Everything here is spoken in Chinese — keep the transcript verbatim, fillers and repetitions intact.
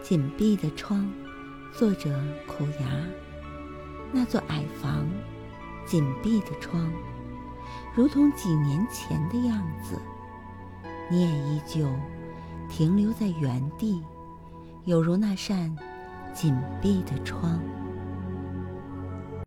紧闭的窗，作者苦牙。那座矮房，紧闭的窗，如同几年前的样子，你也依旧停留在原地，有如那扇紧闭的窗。